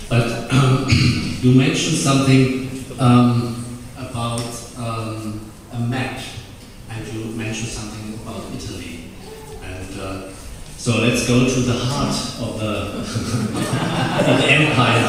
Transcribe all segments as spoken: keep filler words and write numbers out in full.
But um, you mentioned something um, about um, a map, and you mentioned something about Italy. And uh, so let's go to the heart of the, of the empire.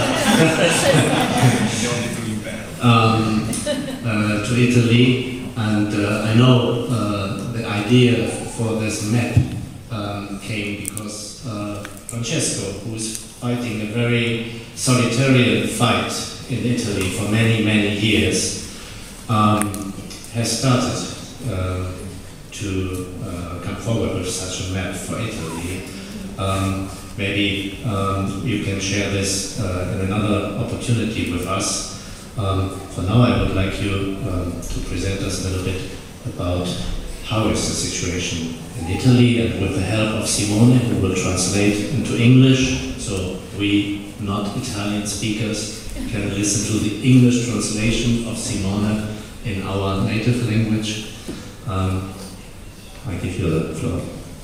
um, uh, to Italy, and uh, I know uh, the idea for this map um, came because uh, Francesco, who is fighting a very solitary fight in Italy for many, many years, um, has started uh, to uh, come forward with such a map for Italy. Um, maybe um, you can share this uh, in another opportunity with us. Um, for now, I would like you um, to present us a little bit about how is the situation in Italy, and with the help of Simone, who will translate into English, so we, not Italian speakers, can listen to the English translation of Simone in our native language. Um, I give you the floor.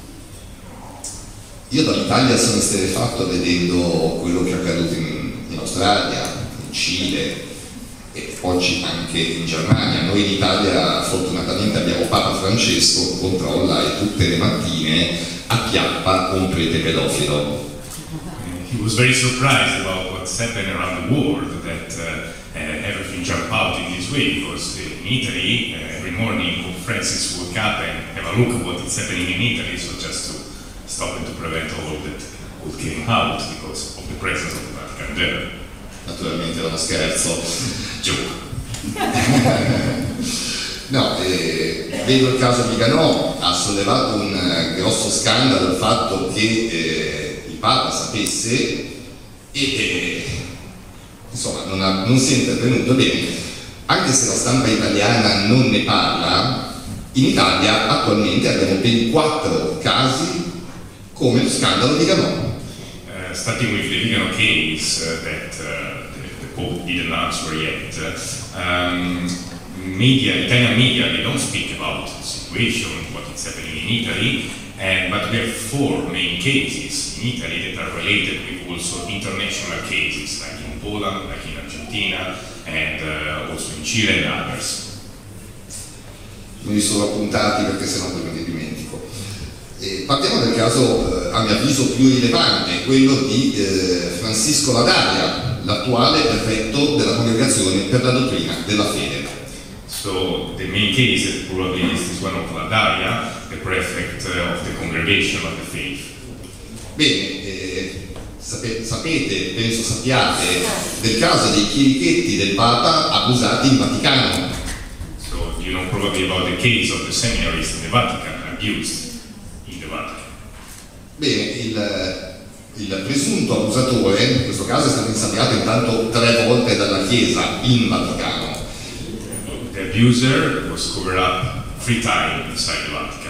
Io dall'Italia sono esterrefatto vedendo quello che è accaduto in, in Australia, in Cile e oggi anche in Germania. Noi in Italia fortunatamente abbiamo Papa Francesco che controlla e tutte le mattine acchiappa un prete pedofilo. He was very surprised about what's happening around the world, that uh, uh, everything jumped out in this way, because in Italy uh, every morning Pope Francis woke up and have a look at what is happening in Italy, so just to stop and to prevent all of that what came out because of the presence of the Vatican there. Naturalmente era uno scherzo. Joke. No, eh, vedo il caso Viganò, ha sollevato un eh, grosso scandalo il fatto che eh, il Papa sapesse e eh, insomma non, ha, non si è intervenuto bene. Anche se la stampa italiana non ne parla, in Italia attualmente abbiamo ben quattro casi come lo scandalo Viganò. Uh, starting with the Vigano case uh, that uh, the, the Pope didn't answer yet, uh, um, media, Italian media, they don't speak about the situation, what is happening in Italy, and, but we have four main cases in Italy that are related with also international cases, like in Poland, like in Argentina, and uh, also in Chile and others. Me li sono appuntati perché sennò poi me li dimentico. E partiamo dal caso, eh, a mio avviso, più rilevante, quello di eh, Francisco Ladaria, l'attuale prefetto della Congregazione per la Dottrina della Fede. So the main case is probably is this one of Ladaria, the prefect uh, of the Congregation of the Faith. Bene, eh, sape- sapete, penso sappiate, del caso dei chierichetti del Papa abusati in Vaticano. So you know probably about the case of the seminarists in the Vatican abused in the Vatican. Bene, il, il presunto abusatore, in questo caso è stato insabbiato intanto tre volte dalla Chiesa in Vaticano. The abuser was covered up three times inside the Vatican.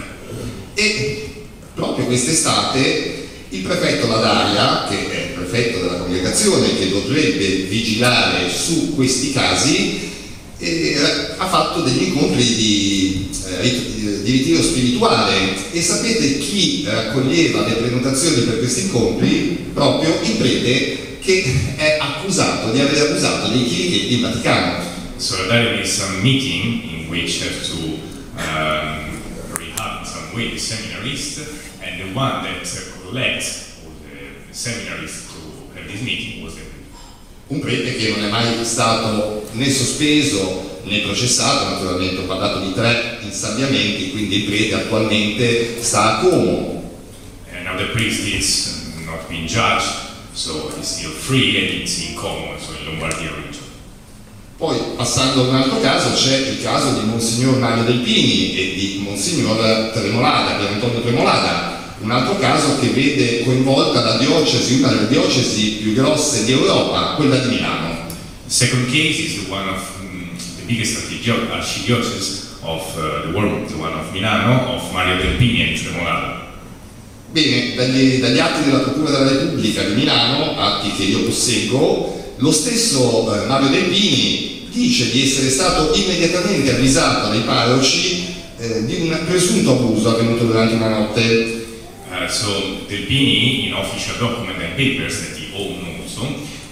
E proprio quest'estate il prefetto Ladaria, che è il prefetto della congregazione che dovrebbe vigilare su questi casi, eh, ha fatto degli incontri di, eh, di ritiro spirituale. E sapete chi raccoglieva le prenotazioni per questi incontri? Proprio il prete che è accusato di aver abusato dei chierichetti in Vaticano. So there is some meeting in which have to um, rehab in some way the seminarist, and the one that uh, led all the seminarists to have this meeting was the un prete che non è mai stato né sospeso né processato. Naturalmente ho parlato di tre insabbiamenti, quindi il prete attualmente sta a Como. And now the priest is not being judged, so he's still free and it's in Como, so in Lombardia region. Poi, passando a un altro caso, c'è il caso di Monsignor Mario Delpini e di Monsignor Tremolada, Pier Antonio Tremolada, un altro caso che vede coinvolta la diocesi, una delle diocesi più grosse di Europa, quella di Milano. The second case is the one of um, the biggest archdiocese of uh, the world, the one of Milano, of Mario Delpini and Tremolada. Bene, dagli, dagli atti della Procura della Repubblica di Milano, atti che io posseggo, lo stesso eh, Mario Delpini dice di essere stato immediatamente avvisato dai parroci eh, di un presunto abuso avvenuto durante una notte. Uh, so Delpini, in official document and papers that he owned also,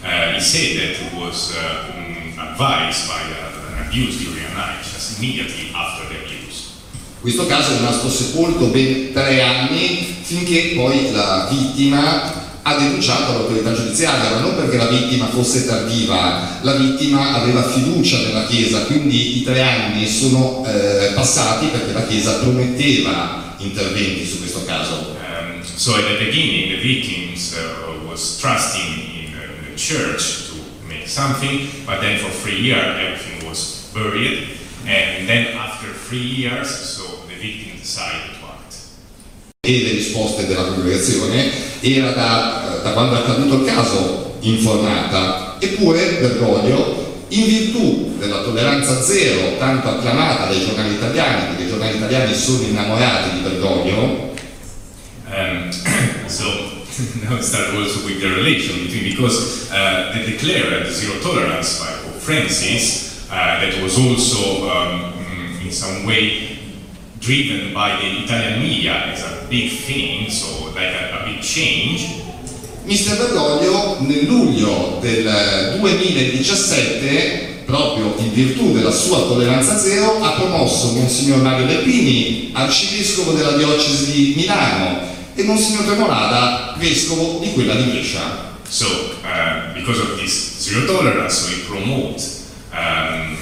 uh, he said that it was uh, um, advised by uh, an abuse during a night, just immediately after the abuse. Questo caso è rimasto sepolto ben tre anni finché poi la vittima ha denunciato l'autorità giudiziaria, ma non perché la vittima fosse tardiva, la vittima aveva fiducia nella Chiesa, quindi i tre anni sono eh, passati perché la Chiesa prometteva interventi su questo caso. Um, so at the beginning the victims uh, was trusting in uh, the church to make something, but then for three years everything was buried, and then after three years so the victim decided to act. E le risposte della congregazione era da, da quando è accaduto il caso informata, eppure Bergoglio, in virtù della tolleranza zero tanto acclamata dai giornali italiani, perché i giornali italiani sono innamorati di Bergoglio, um, so now it started also with the relation between, because uh, they declared zero tolerance by Pope Francis, uh, that was also um, in some way driven by the Italian media as a big thing, so like a, a big change. mister Bergoglio nel luglio del duemiladiciassette, proprio in virtù della sua tolleranza zero, ha promosso Monsignor Mario Lepini, arcivescovo della diocesi di Milano, e Monsignor Tremolada, vescovo di quella di Brescia. So, uh, because of this zero tolerance, so we promote um,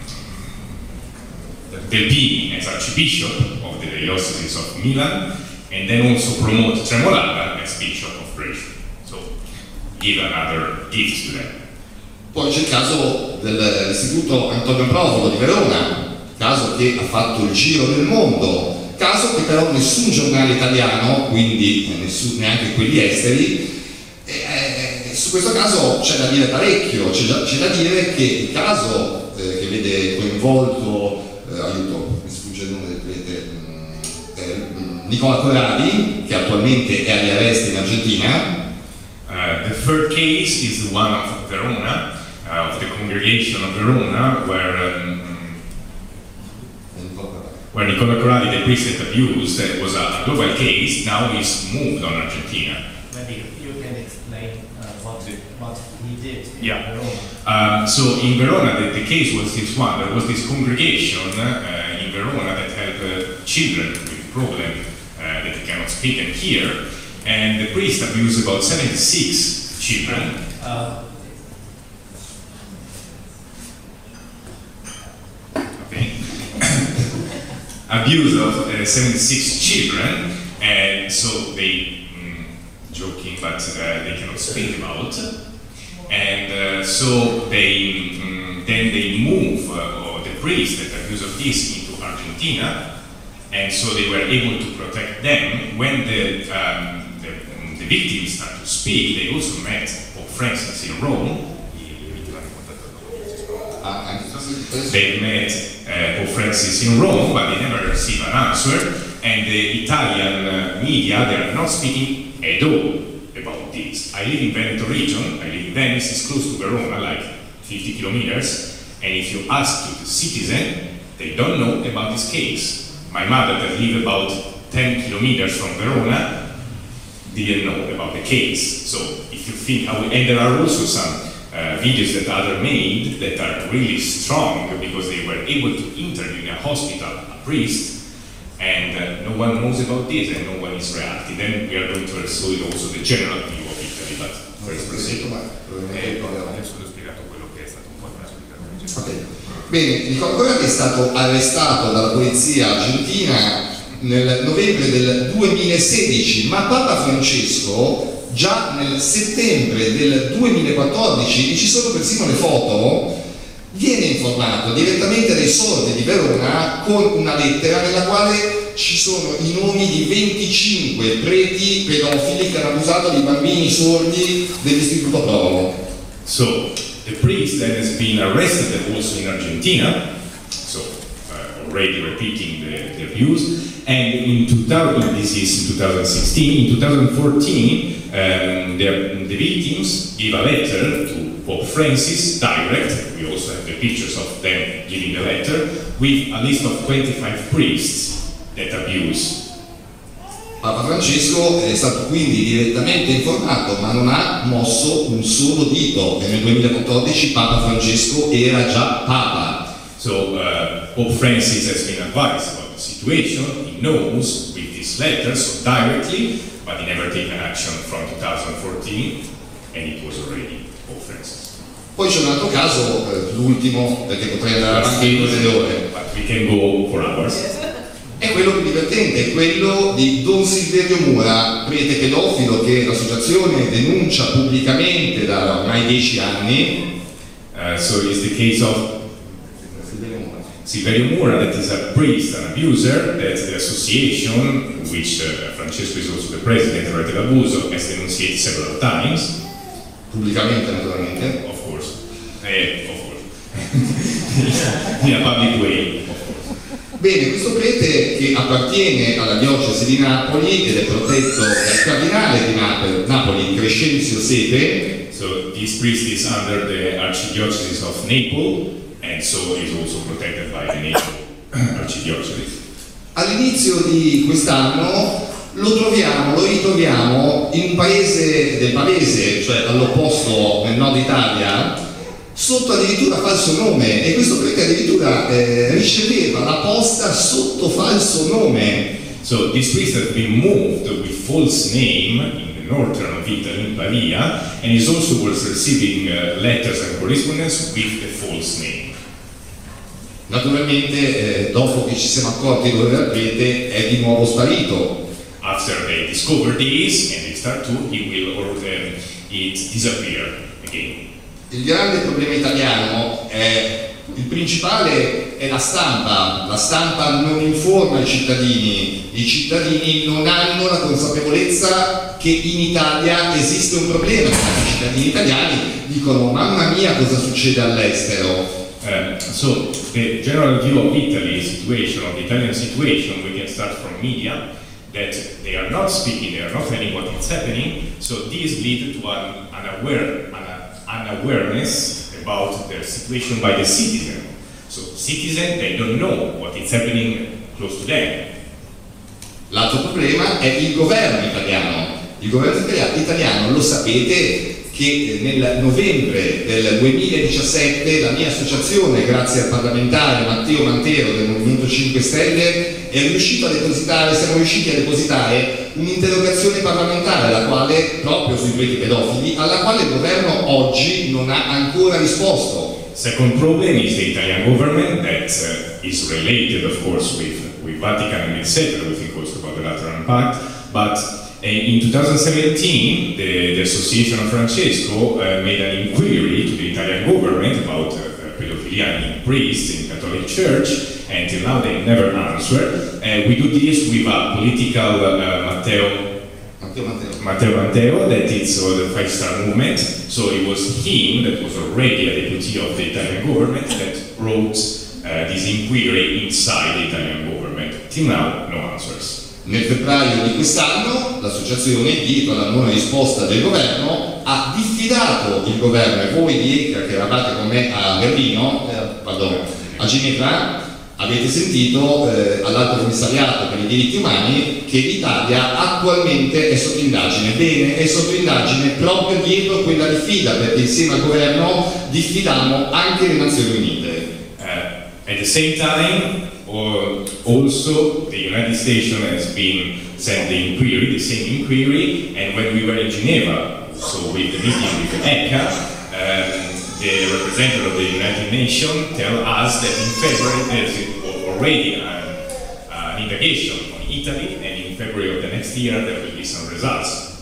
Lepini as Archbishop of the Diocese of Milan, and then also promote Tremolada as Bishop of Brescia. So, give another gift to them. Poi c'è il caso dell'Istituto Antonio Provola di Verona, caso che ha fatto il giro del mondo, caso che però nessun giornale italiano, quindi nessun, neanche quelli esteri, eh, su questo caso c'è da dire parecchio, c'è da, c'è da dire che il caso eh, che vede coinvolto Eh, aiuto, mi sfugge il nome del prete, eh, Nicola Corradi, che attualmente è agli arresti in Argentina. Uh, the third case is the one of Verona, uh, of the congregation of Verona, where um, where Nicola Corradi, the priest that abused, uh, was a, a global case. Now he's moved on Argentina. Maybe you can explain uh, what what he did in Yeah. Verona. Um, so in Verona, the, the case was this one. There was this congregation uh, in Verona that had uh, children with problem uh, that they cannot speak and hear, and the priest abused about seventy-six children. Uh, Okay. Abuse of uh, seventy-six children, and so they, mm, joking, but uh, they cannot speak about. And uh, so they um, then they move uh, or the priest that accused of this into Argentina, and so they were able to protect them. When the um, the, um, the victims start to speak, they also met Pope Francis in Rome. They met uh, Pope Francis in Rome, but they never received an answer. And the Italian uh, media, they are not speaking at all about this. I live in Veneto region, I live in Venice, it's close to Verona, like fifty kilometers, and if you ask to the citizen, they don't know about this case. My mother that live about ten kilometers from Verona didn't know about the case. So if you think how, and there are also some uh, videos that others made that are really strong because they were able to interview in a hospital a priest, and uh, no one knows about this and no one is reacting. Then we are going to assume also the general view of Italy, but first proceed. Eh, adesso ho spiegato quello che è stato un po' una spiegazione. Okay. Bene, Nicola Corradi è stato arrestato dalla polizia argentina nel novembre del duemilasedici, ma Papa Francesco già nel settembre del duemilaquattordici, e ci sono persino le foto, viene informato direttamente dai sordi di Verona con una lettera nella quale ci sono i nomi di venticinque preti pedofili che hanno abusato di bambini sordi dell'Istituto Provo. So the priest that has been arrested also in Argentina, so uh, already repeating the, the abuse, and in two thousand, this is in twenty sixteen, in twenty fourteen, um, the, the victims give a letter to Pope Francis direct. We also have the pictures of them giving the letter with a list of twenty-five priests that abuse Papa Francesco è stato quindi direttamente informato, ma non ha mosso un solo dito, e nel duemilaquattordici Papa Francesco era già Papa. So uh, Pope Francis has been advised about the situation. He knows with these letters so directly, but he never taken action from two thousand fourteen, and it was already Pope Francis. Poi c'è un altro caso, eh, l'ultimo, perché potrei andare avanti in queste ore. But we can go for hours. È quello più divertente, è quello di Don Silverio Mura, prete pedofilo che l'associazione denuncia pubblicamente da ormai dieci anni. Uh, so it's the case of Silverio Mura, that is a priest and abuser, that the association, which uh, Francesco is also the president of Rete d'Abuso, has denunciated several times. Pubblicamente, naturalmente. Of course. Eh, of course. In a public way. Bene, questo prete che appartiene alla diocesi di Napoli ed è protetto dal cardinale di Napoli, Napoli Crescenzio Sete. So this priest is under the Archdiocese of Naples, and so is also protected by the Naples Archdiocese. All'inizio di quest'anno lo troviamo, lo ritroviamo in un paese del Pavese, cioè all'opposto nel nord Italia, sotto addirittura falso nome, e questo prete addirittura eh, riceveva la posta sotto falso nome. So this priest has been moved with false name in the northern of Italy, in Pavia, and he also was receiving uh, letters and correspondence with the false name. Naturalmente eh, dopo che ci siamo accorti dove era il prete è di nuovo sparito. After they discover this and they start to, he will or um, it disappear again. Il grande problema italiano è, il principale è la stampa, la stampa non informa i cittadini, i cittadini non hanno la consapevolezza che in Italia esiste un problema, i cittadini italiani dicono mamma mia cosa succede all'estero. Uh, so the general view of Italy's situation, of the Italian situation, we can start from media, that they are not speaking, they are not telling what is happening, so this leads to an, an, aware, an, an awareness about their situation by the citizen. So citizens, they don't know what is happening close to them. L'altro problema è il governo italiano. Il governo italiano, lo sapete, che nel novembre del duemiladiciassette la mia associazione, grazie al parlamentare Matteo Mantero del Movimento cinque Stelle, è riuscito a depositare, siamo riusciti a depositare un'interrogazione parlamentare alla quale, proprio sui preti pedofili, alla quale il governo oggi non ha ancora risposto. Second problem is the Italian government that uh, is related, of course, with, with Vatican and et cetera. We think also about the Lateran Pact, but in twenty seventeen, the, the Association of Francesco uh, made an inquiry to the Italian government about uh, pedophilia in priests in the Catholic Church, and till now they never answered. Uh, we do this with a political uh, Matteo, Matteo Mantero. Matteo Mantero, that is uh, the Five Star Movement. So it was him that was already a deputy of the Italian government that wrote uh, this inquiry inside the Italian government. Till now, no answers. Nel febbraio di quest'anno l'associazione, dietro alla non risposta del governo, ha diffidato il governo, e voi di ECRA che eravate con me a Berlino, eh, pardon, a Ginevra, avete sentito eh, all'Alto Commissariato per i diritti umani che l'Italia attualmente è sotto indagine. Bene, è sotto indagine proprio dietro quella diffida, perché insieme al governo diffidammo anche le Nazioni Unite. Uh, at the same time, or also the United States has been sent the inquiry, the same inquiry, and when we were in Geneva, so with the meeting with the E C A, um, the representative of the United Nations tell us that in February there's already an, an investigation on Italy, and in February of the next year there will be some results.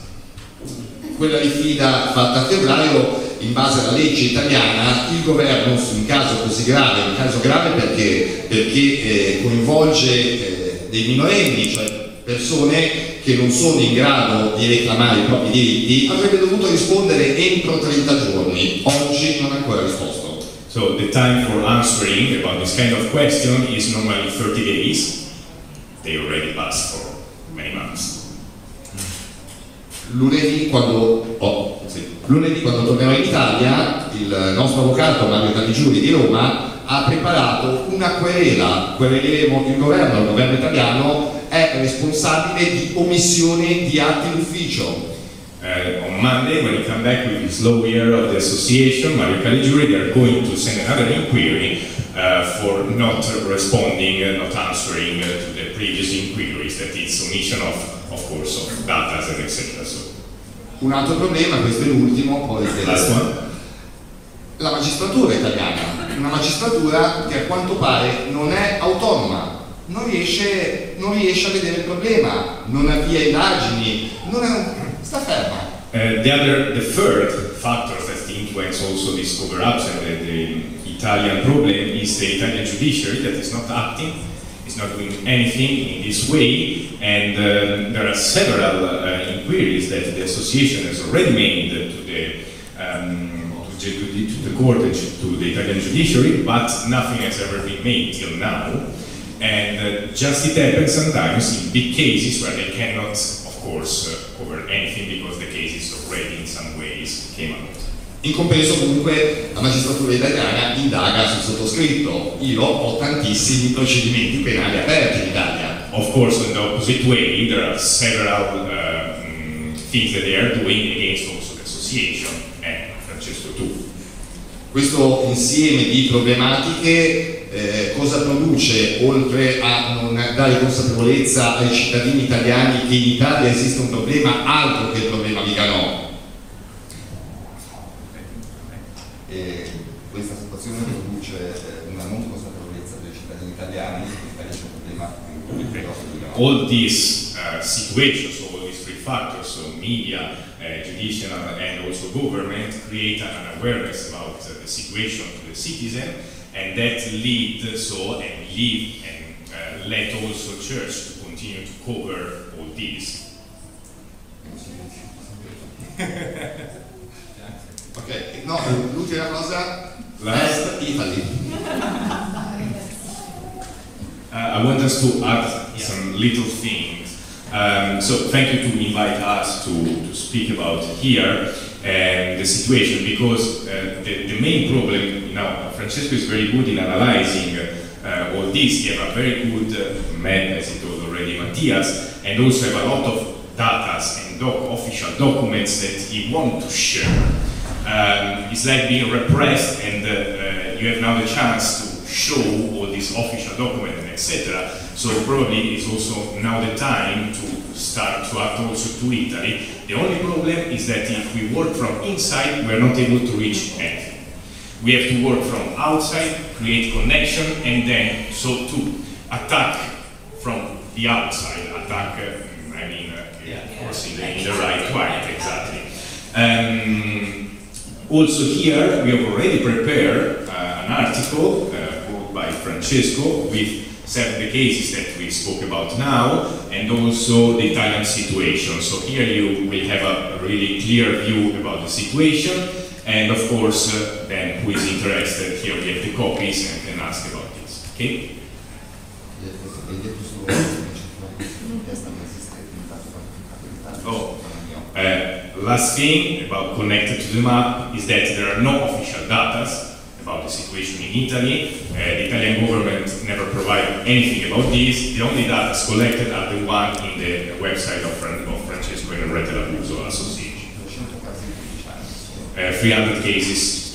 Quella diffida fatta a febbraio, in base alla legge italiana, il governo su un caso così grave, un caso grave perché, perché eh, coinvolge eh, dei minorenni, cioè persone che non sono in grado di reclamare i propri diritti, avrebbe dovuto rispondere entro trenta giorni. Oggi non ha ancora risposto. So the time for answering about this kind of question is normally thirty days. They already passed for many months. Lunedì quando, oh, sì. Lunedì quando tornerò in Italia, il nostro avvocato Mario Caligiuri di Roma ha preparato una querela, quereleremo il governo, il governo italiano è responsabile di omissione di atti d'ufficio. Uh, on Monday, when you come back with this lawyer of the association, Mario Caligiuri, they are going to send another inquiry uh, for not responding, uh, not answering uh, to the previous inquiries, that is omission of, of course, of data and et cetera. So, un altro problema, questo è l'ultimo, poi last one. La magistratura italiana, una magistratura che a quanto pare non è autonoma. Non riesce, non riesce a vedere il problema, non avvia indagini, non è, sta ferma. Uh, the other, the third factor that influence also this cover-ups and the, the Italian problem is the Italian judiciary that is not acting, is not doing anything in this way, and uh, there are several uh, inquiries that the association has already made to the um, to the, to the court and to the Italian judiciary, but nothing has ever been made till now. And uh, just it happens sometimes in big cases where they cannot, of course, uh, cover anything because the cases already in some ways came out. In compenso comunque la magistratura italiana indaga sul sottoscritto. Io ho tantissimi procedimenti penali aperti in Italia. Of course, in the opposite way, there are several uh, um, things that they are doing against also the association and Francesco too. Questo insieme di problematiche Eh, cosa produce, oltre a non dare consapevolezza ai cittadini italiani che in Italia esiste un problema altro che il problema Viganò? E questa situazione produce una non consapevolezza dei cittadini italiani che in Italia c'è un problema Viganò. All these uh, situations, so all these three factors, so media, uh, judicial and also government, create an awareness about uh, the situation to the citizen. And that lead so and leave and uh, let also church to continue to cover all these. Ok, no, l'ultima cosa, Last, Italy. uh, I want us to add yeah. some little things. Um, so thank you to invite us to, to speak about here and the situation, because uh, the, the main problem now, Francesco is very good in analyzing uh, all this. He have a very good uh, map, as he told already Matthias, and also have a lot of data and doc official documents that he wants to share. Um, it's like being repressed, and uh, uh, you have now the chance to show all these official documents and et cetera. So probably it's also now the time to start to act also to Italy. The only problem is that if we work from inside, we are not able to reach anything. We have to work from outside, create connection, and then so to attack from the outside. Attack, uh, I mean, uh, yeah, of course, in the, in the right way, exactly. Um, also here, we have already prepared uh, an article uh, wrote by Francesco with seven the cases that we spoke about now, and also the Italian situation. So here you will have a really clear view about the situation, and of course, uh, then who is interested, here we have the copies and can ask about this. Okay? Oh, uh, last thing about connected to the map is that there are no official data about the situation in Italy. Uh, the Italian government never provided anything about this. The only data collected are the one in the website of, Fran of Francesco and Rete Labuso Association. Uh, three hundred cases